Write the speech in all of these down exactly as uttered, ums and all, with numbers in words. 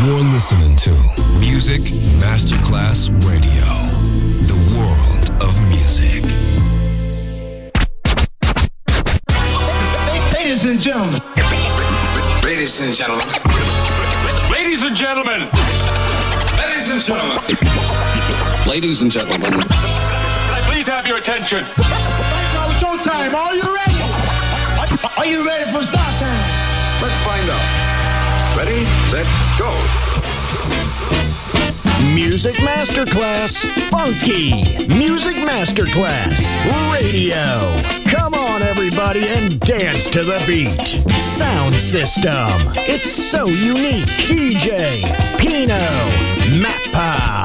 You're listening to Music Masterclass Radio, the world of music. Ladies and gentlemen. Ladies and gentlemen. Ladies and gentlemen. Ladies and gentlemen. Ladies and gentlemen. Can I please have your attention? Now showtime. Are you ready? Are you ready for start time? Let's find out. Ready, set, go. Music Masterclass Funky. Music Masterclass Radio. Come on, everybody, and dance to the beat. Sound system. It's so unique. D J Pino Mappa.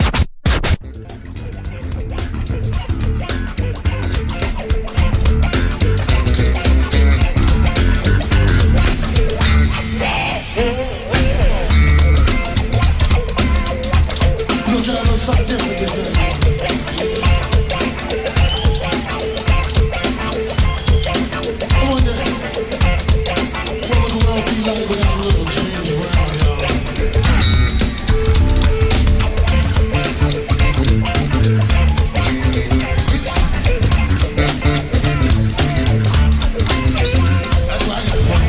Something different this time. I wonder what would the world be like without a little change around, y'all. That's why I got something.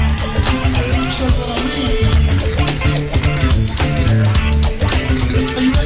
Are you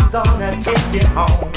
gonna take you home.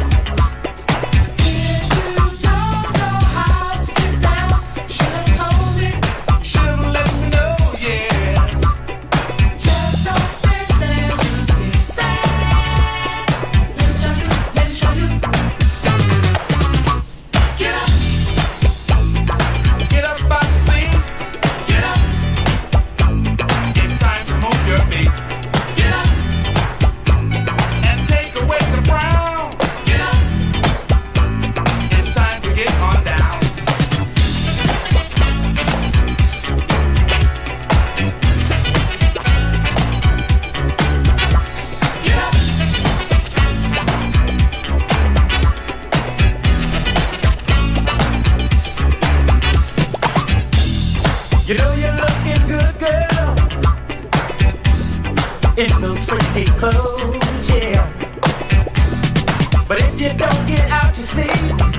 In those pretty clothes, yeah. But if you don't get out to sea,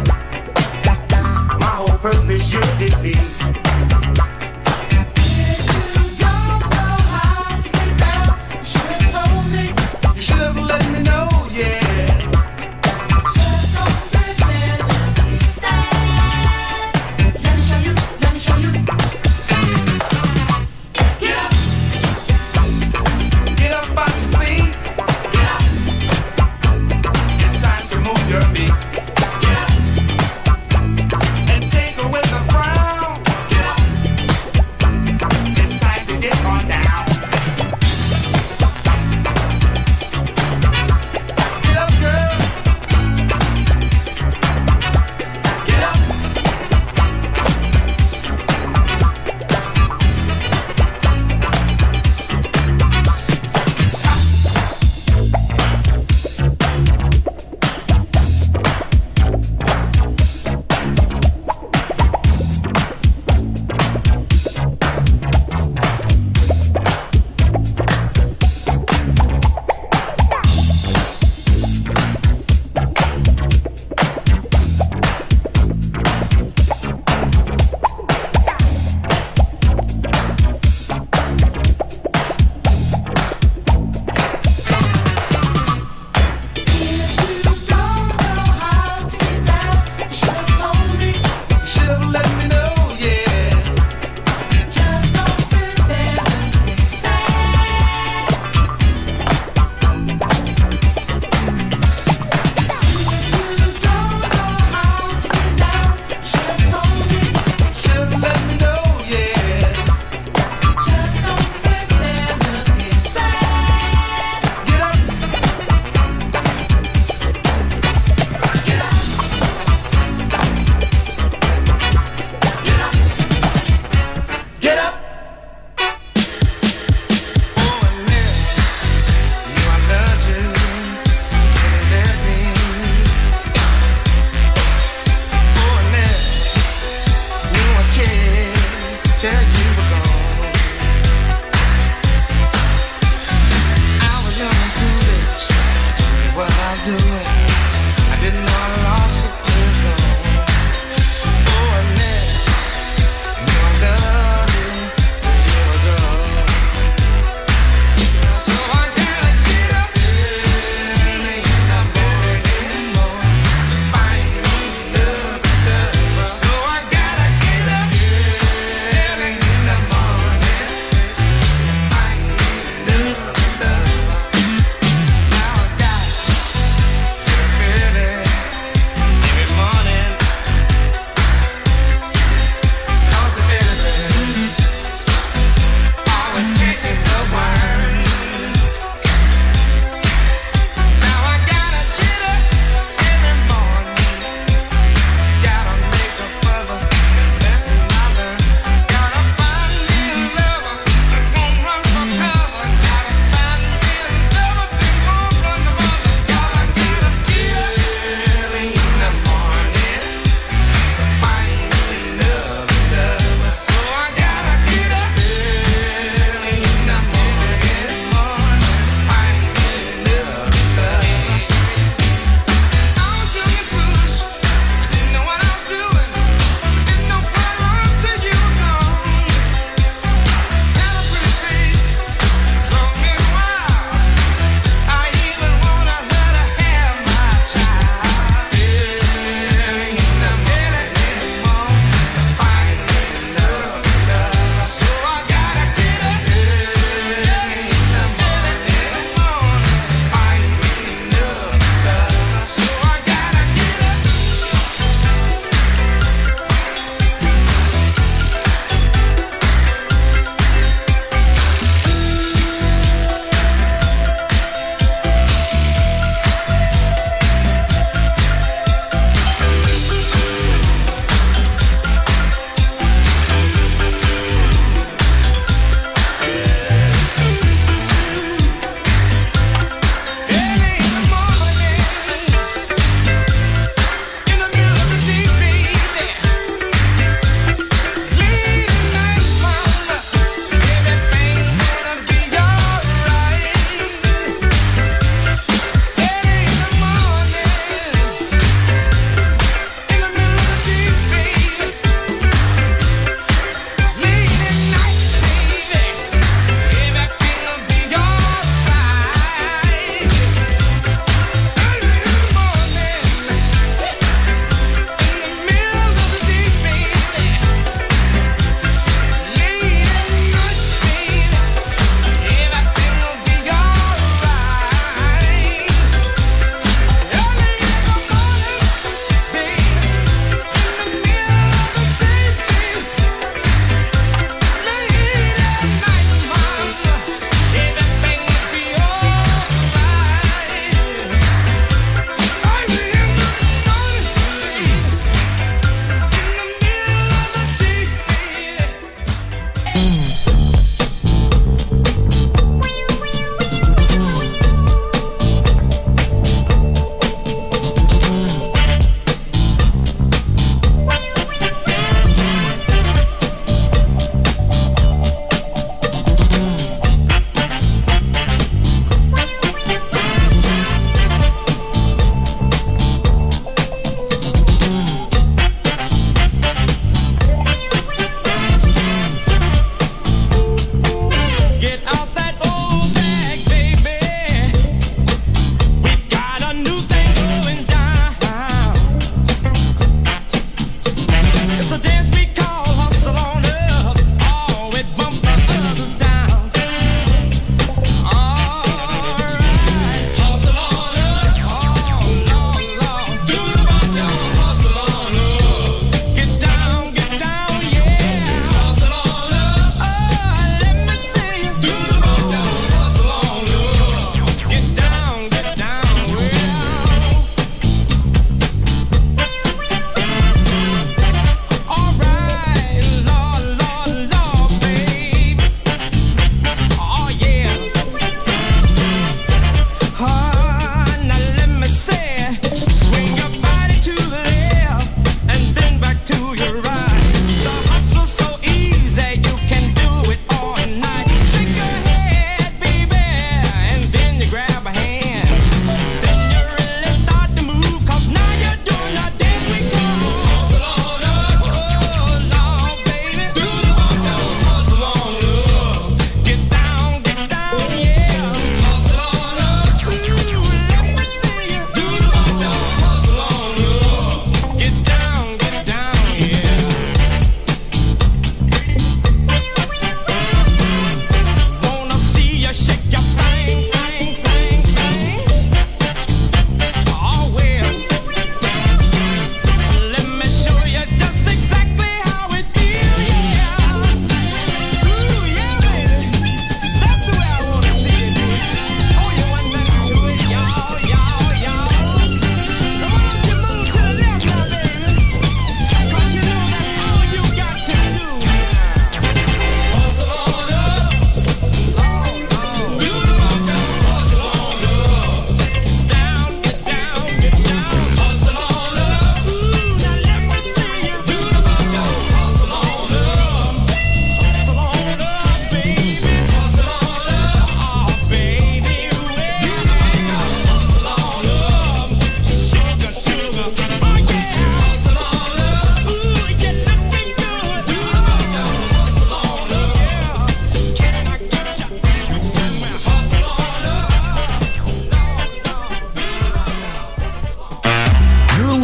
my whole purpose you defeat.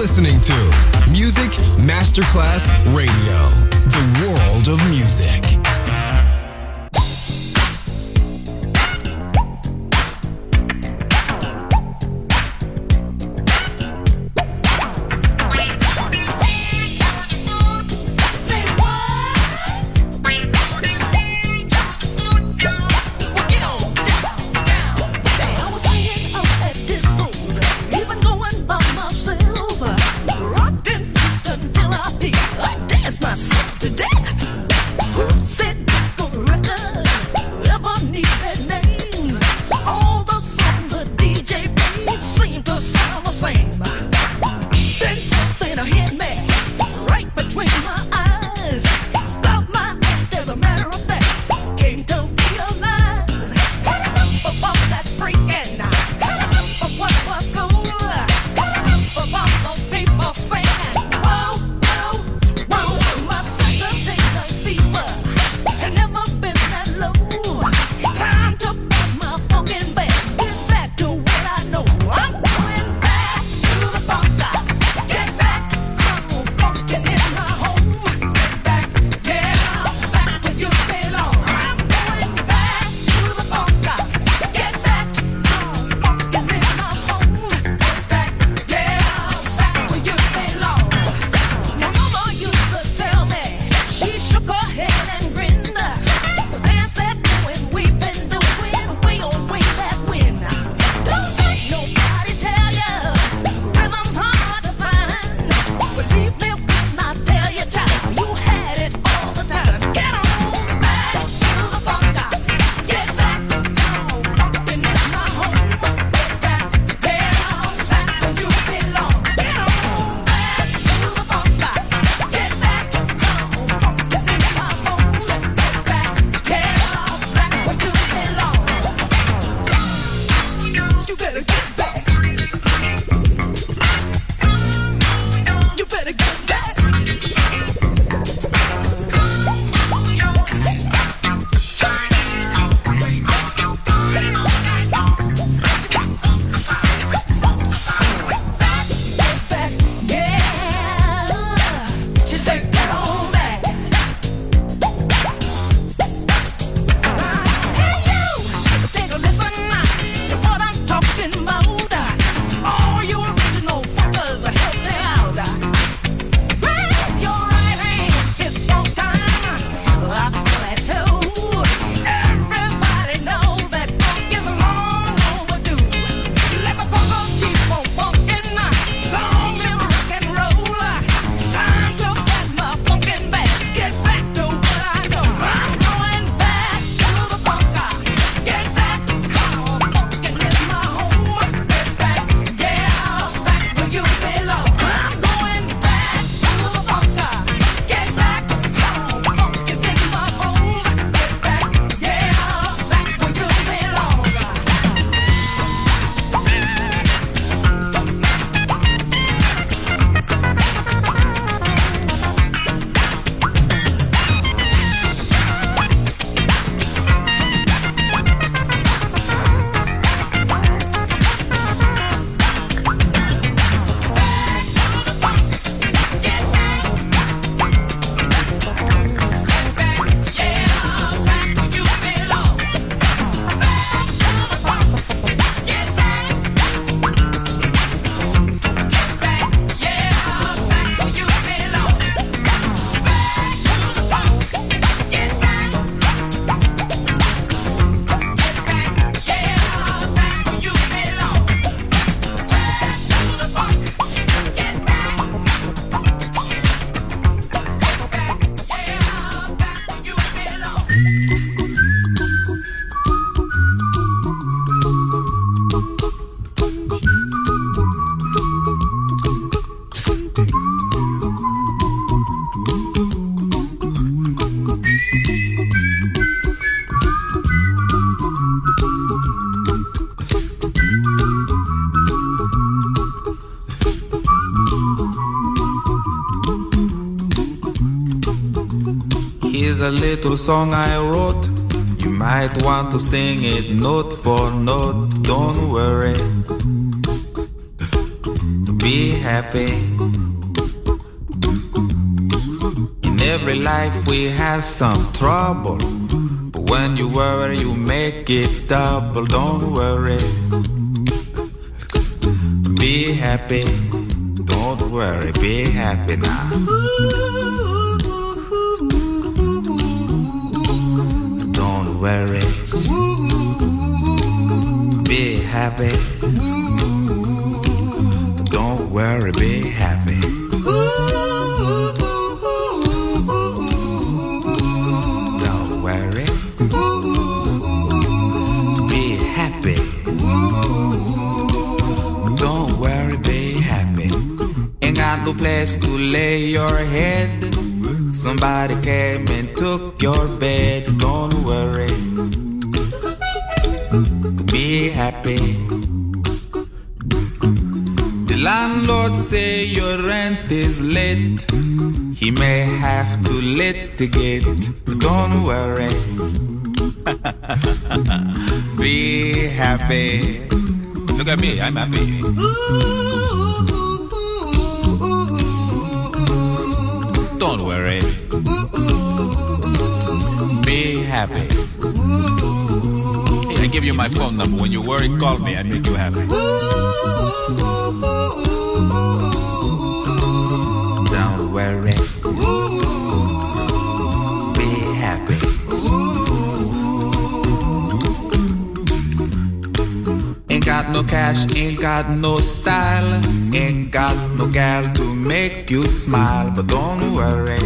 listening to Music Masterclass Radio, the world of music. Here's a little song I wrote. You might want to sing it note for note. Don't worry. be happy. In every life we have some trouble, but when you worry you make it double. Don't worry, be happy. Don't worry, be happy now. Don't worry, be happy. Don't worry, be happy. Don't worry, be happy. Don't worry, be happy. Ain't got no place to lay your head. Somebody came and took your bed. Don't worry, be happy. The landlord say your rent is late. He may have to litigate. Don't worry, be happy. Look at me, I'm happy. Don't worry, be happy. Hey, I give you my phone number. When you worry, call me. I make you happy. Don't worry, be happy. Ain't got no cash, ain't got no style, ain't got no gal to make you smile. But don't worry,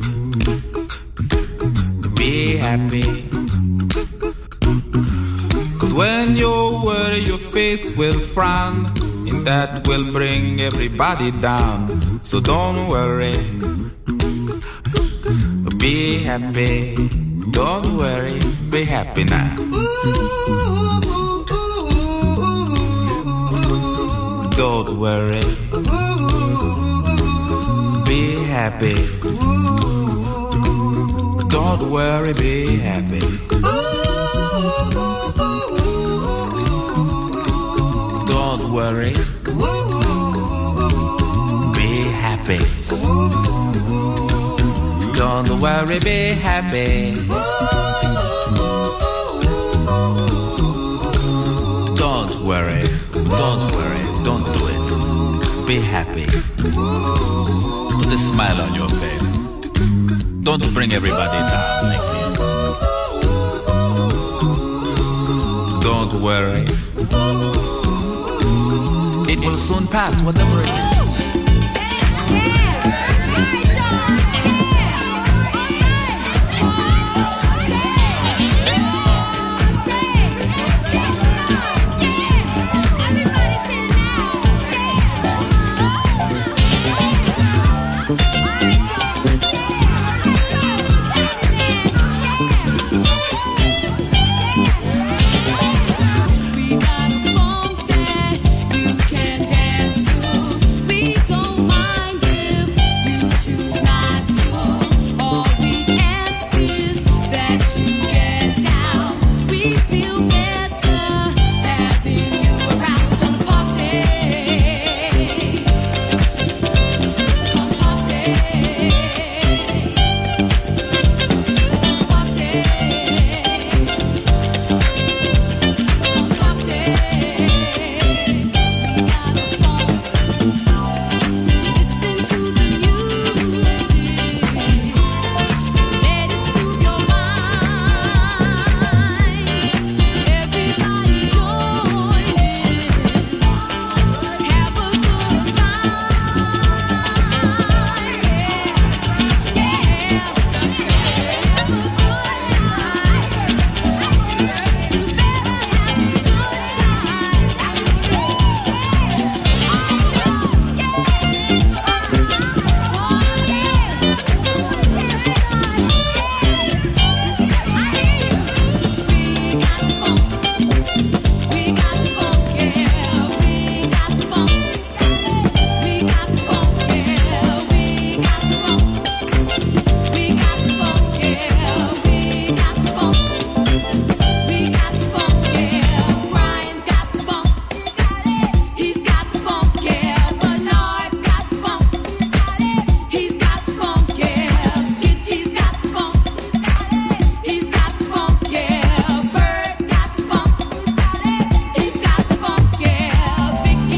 be happy. Cause when you worry your face will frown, and that will bring everybody down. So don't worry, be happy. Don't worry, be happy now. Don't worry, be happy. Don't worry, be happy. Don't worry, be happy. Don't worry, be happy. Don't worry, don't worry, don't do it. Be happy. Put a smile on your face. Don't bring everybody down like this. Don't worry, it will soon pass, whatever it is. You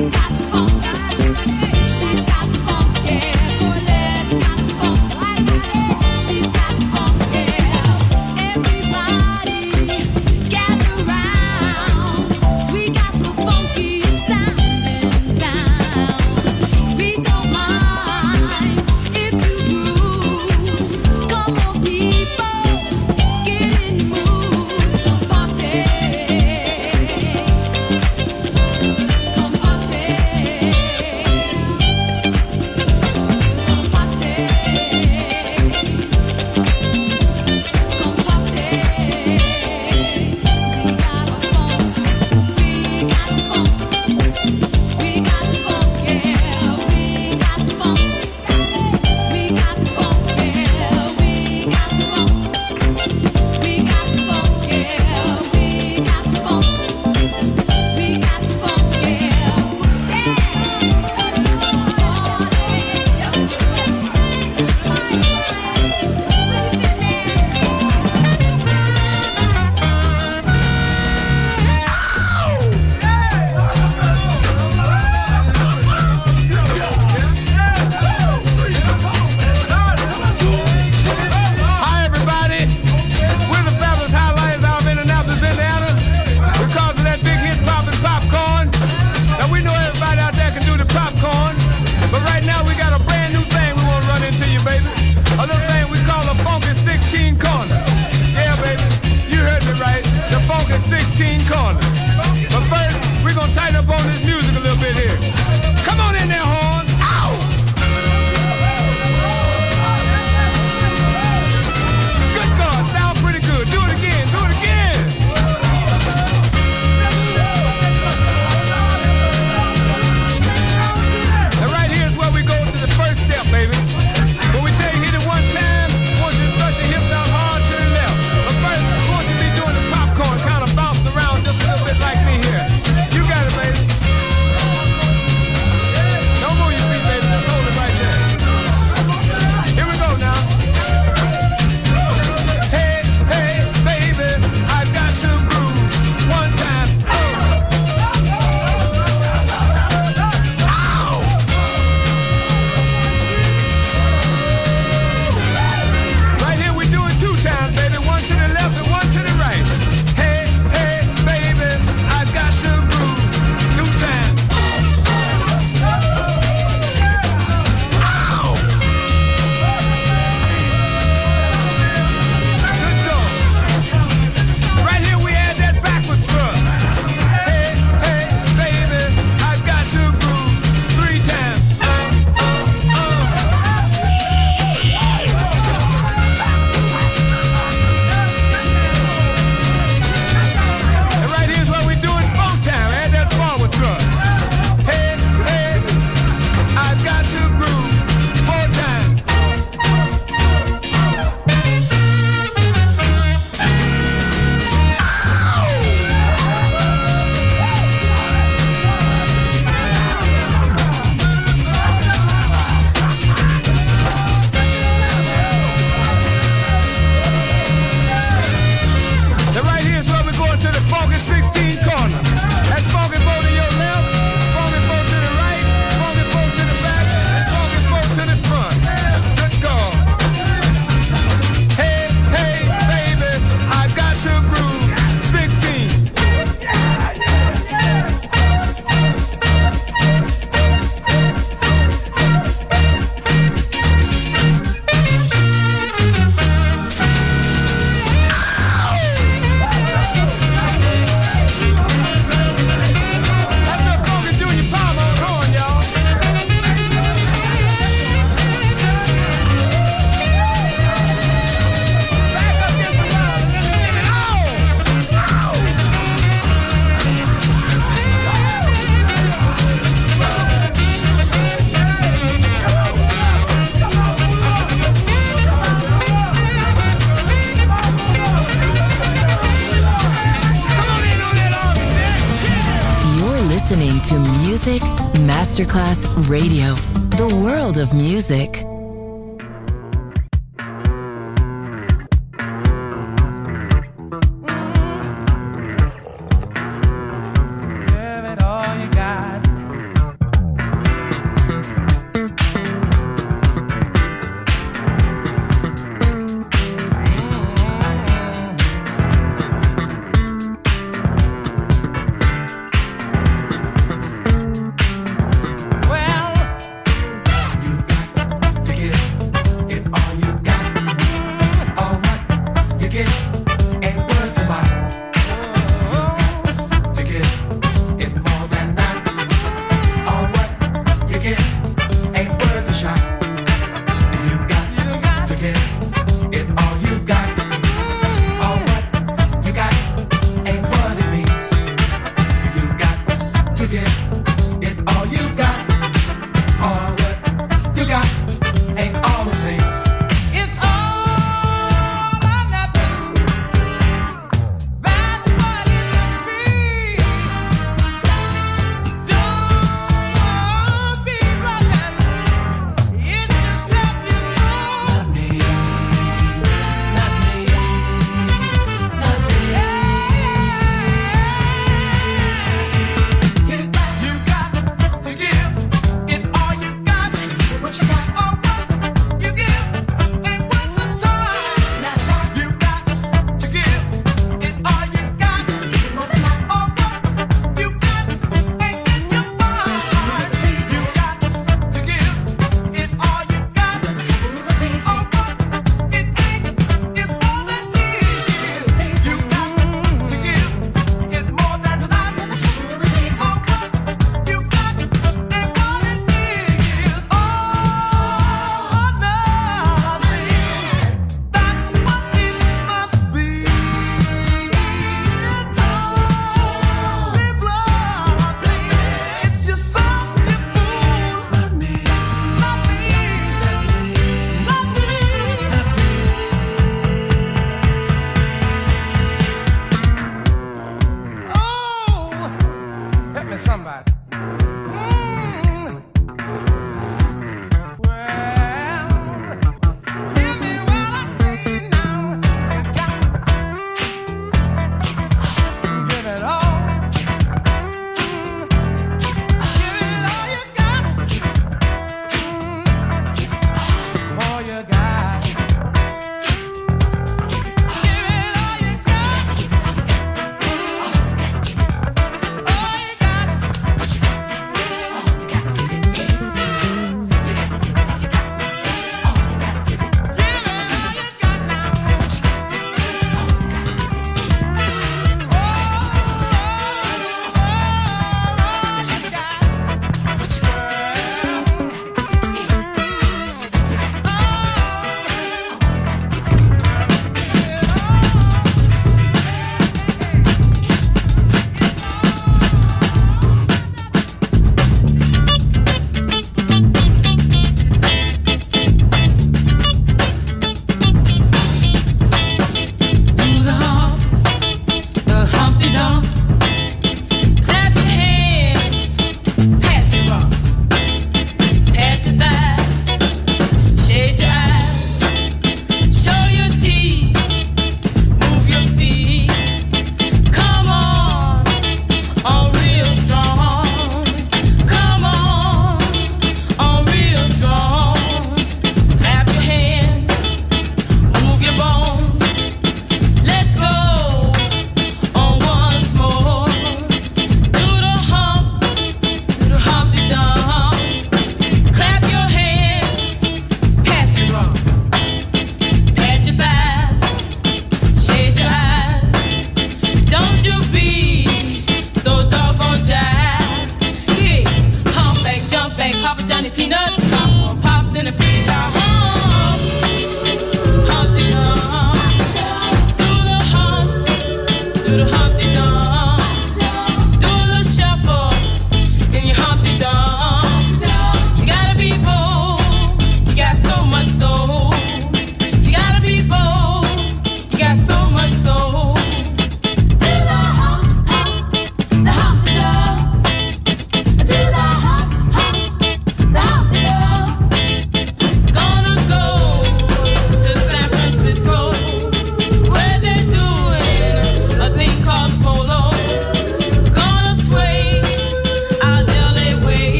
to Music Masterclass Radio, the world of music. Give it all you got.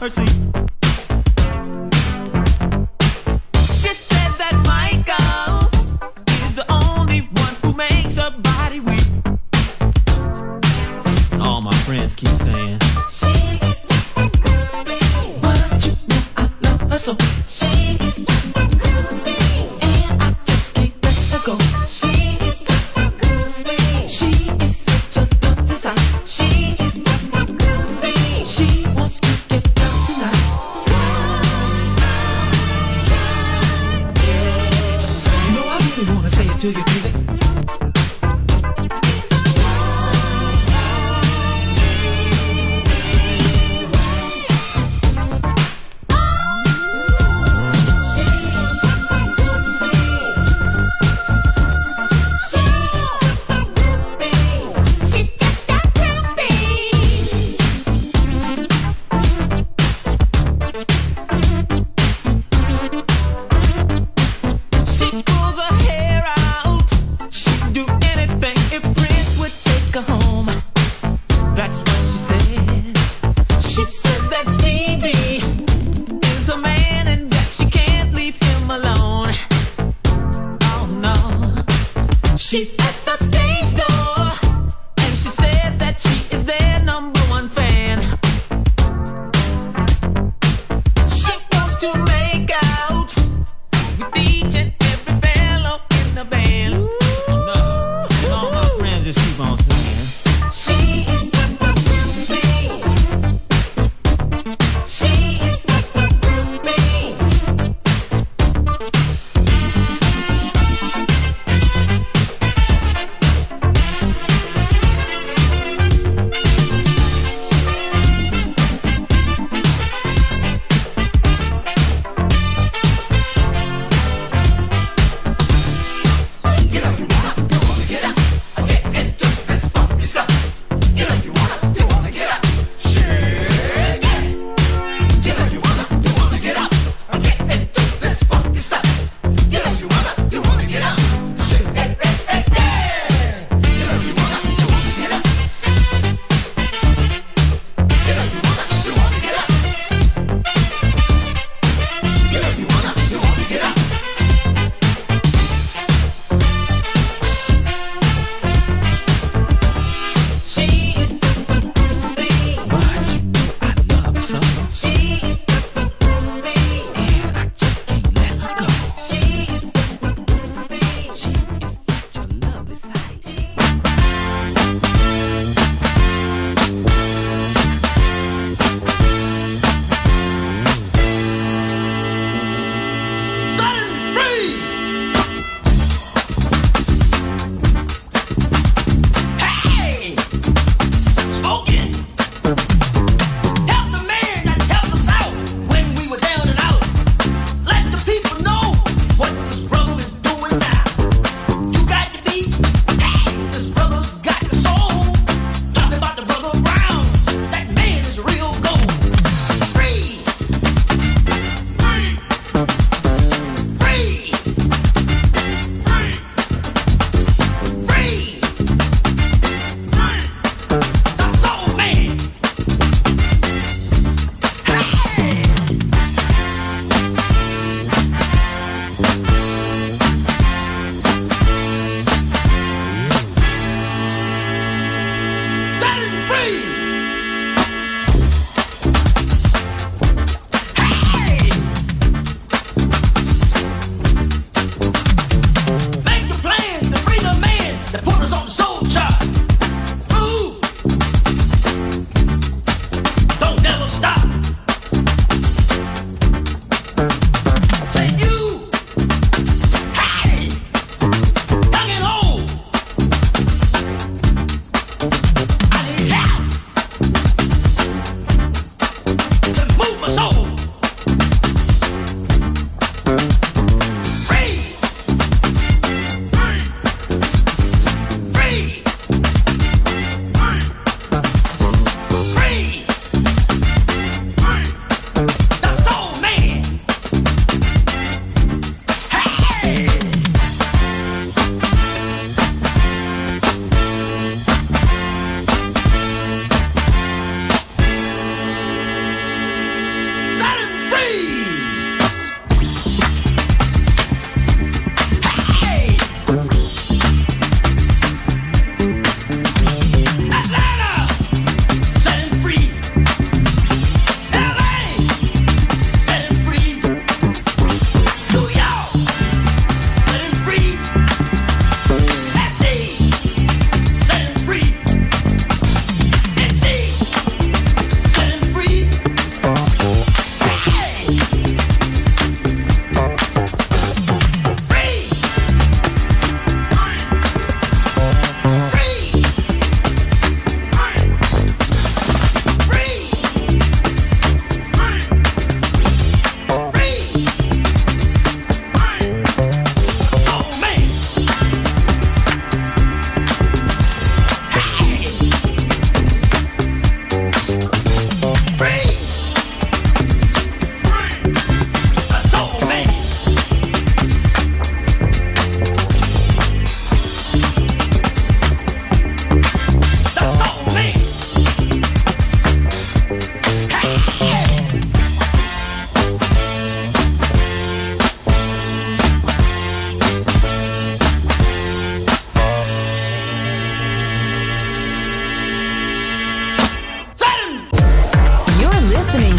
mercy. She said that Michael is the only one who makes her body weak. All my friends keep saying, but you know I love her so. And I just can't let her go. She is such a lovely sight. She wants to get down tonight. You know I really wanna say it to you, baby. She's at the stage door, and she says that she is their number one fan. She wants to make out with each and every fellow in the band. Oh no, and all my friends just keep on saying, she is just a groupie. She is just a groupie.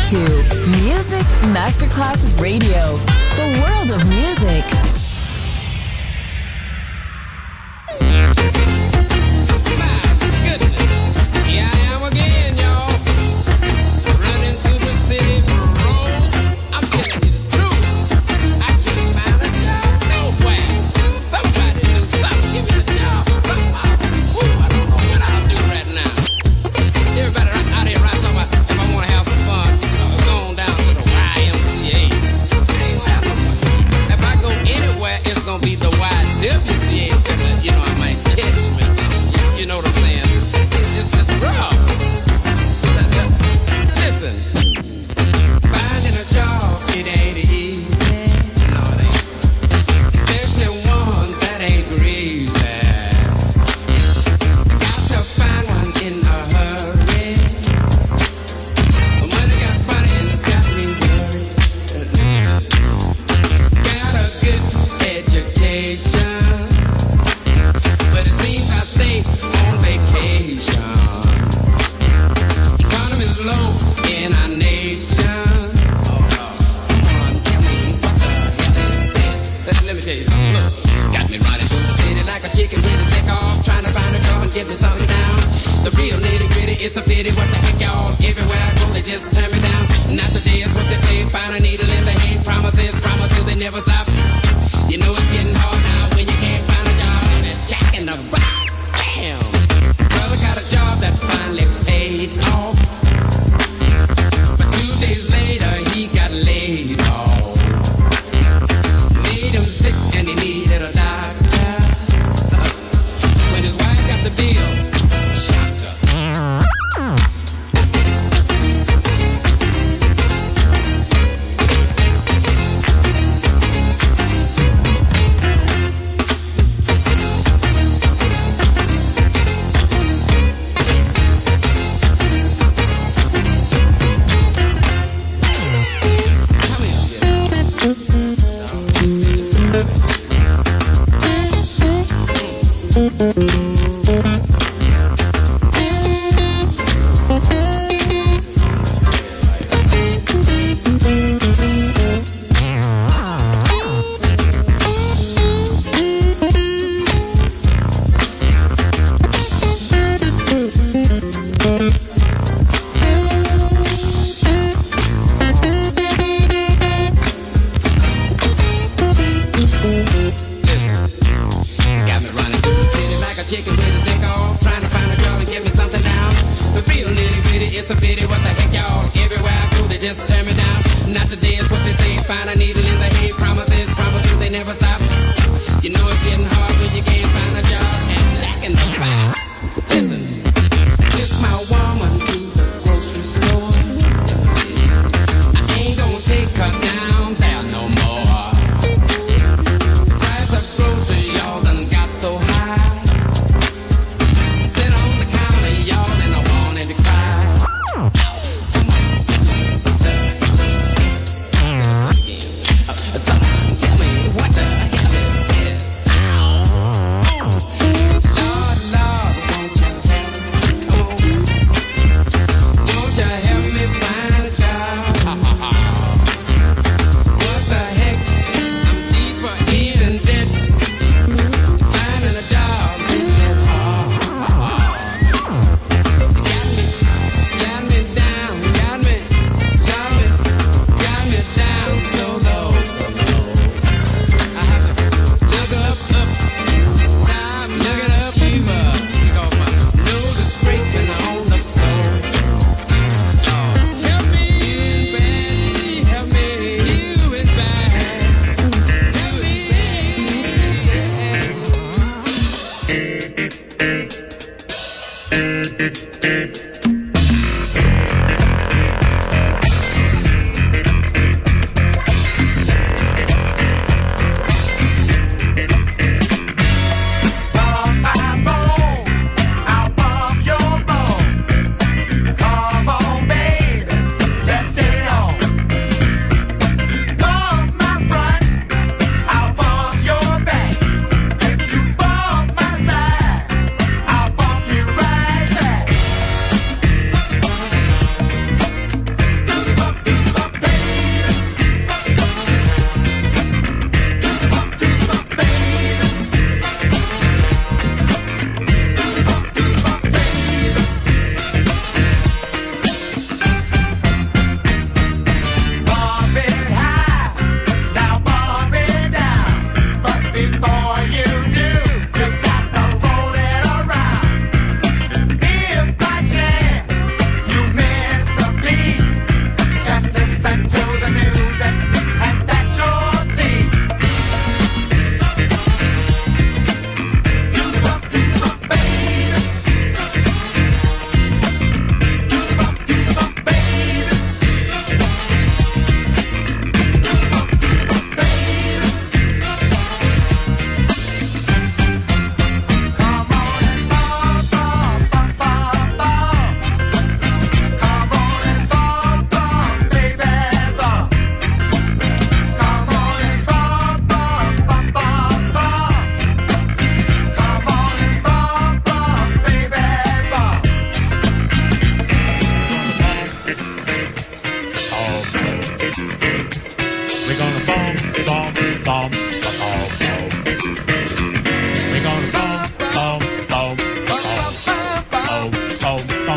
to Music Masterclass Radio, the world of music.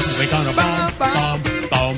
They gonna bum, bum, bum,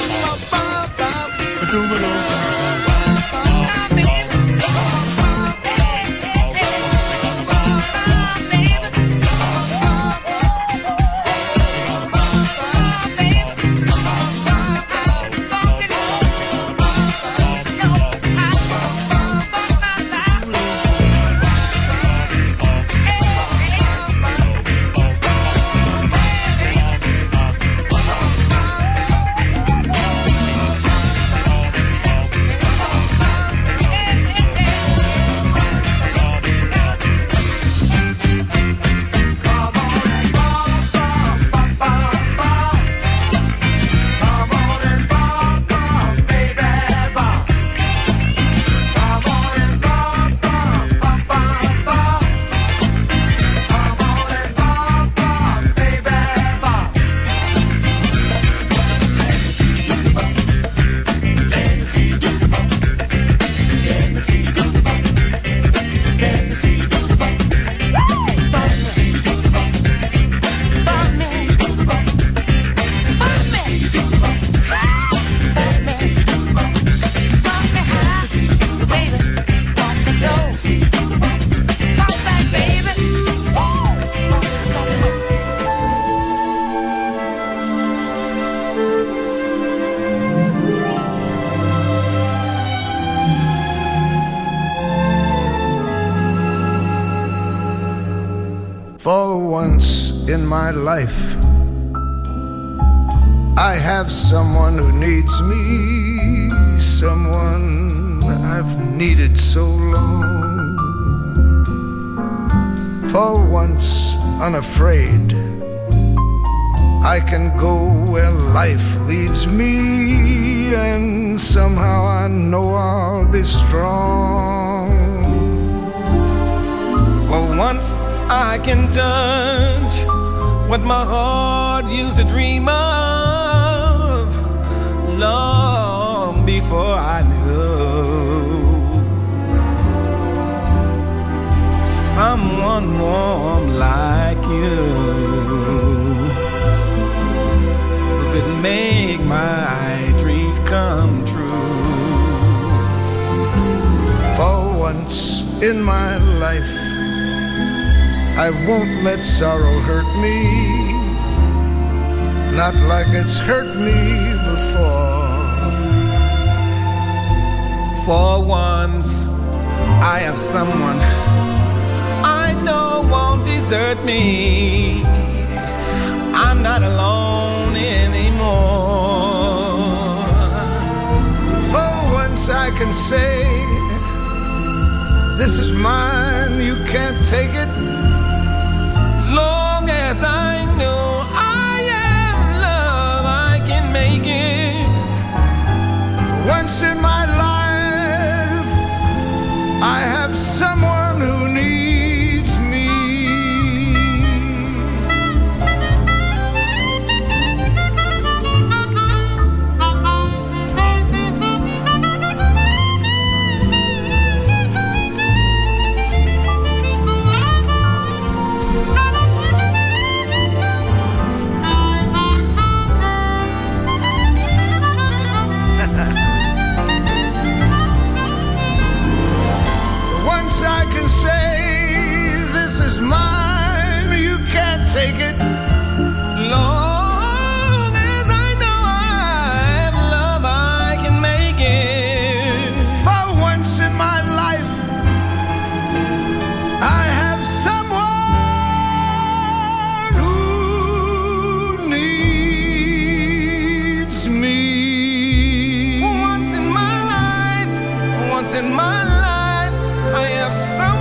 For once in my life, I have someone who needs me, someone I've needed so long. For once unafraid, I can go where life leads me, and somehow I know I'll be strong. For once I can touch what my heart used to dream of long before I knew someone warm like you who could make my dreams come true. For once in my life, I won't let sorrow hurt me, not like it's hurt me before. For once, I have someone I know won't desert me. I'm not alone anymore. For once I can say, this is mine, you can't take it. Long as I know I am love, I can make it. Once in my life, I have someone who needs me. Take it. Long as I know I have love, I can make it. For once in my life, I have someone who needs me. For once in my life, for once in my life, I have someone.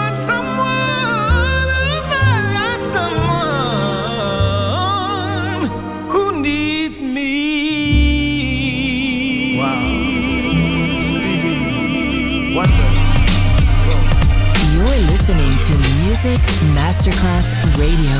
Listening to Music Masterclass Radio.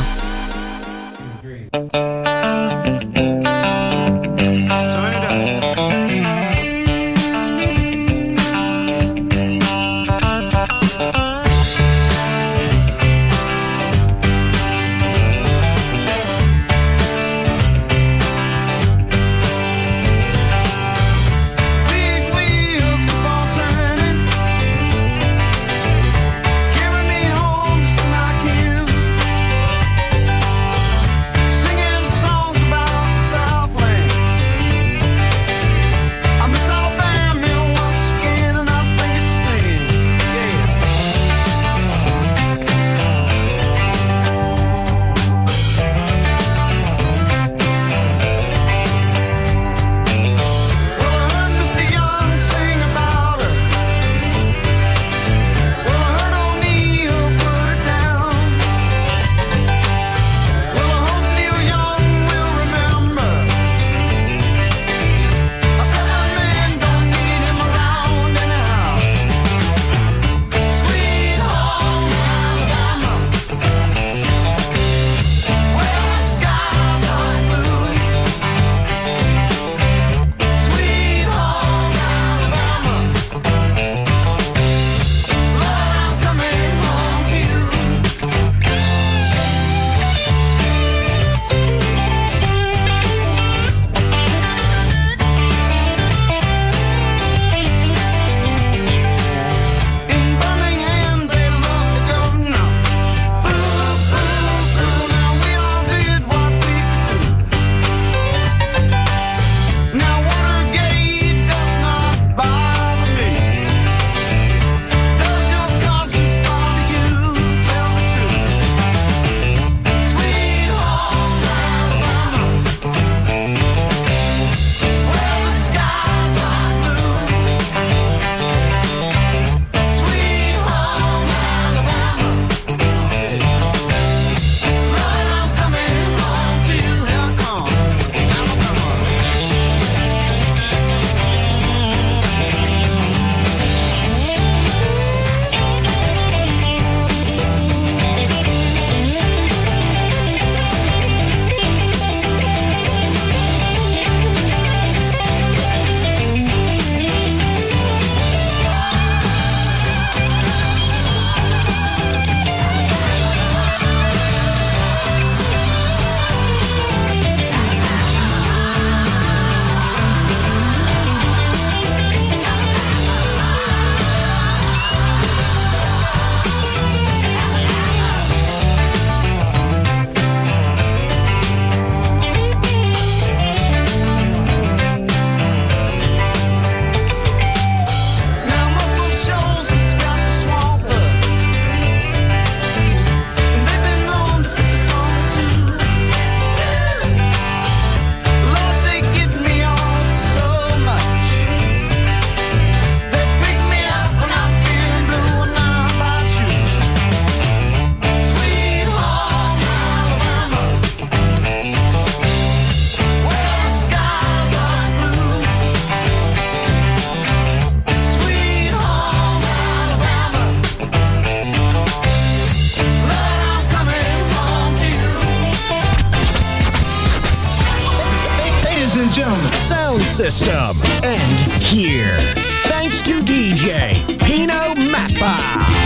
Ladies and gentlemen, sound system, and here. Thanks to D J Pino Mappa.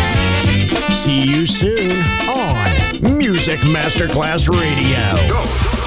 See you soon on Music Masterclass Radio. Go.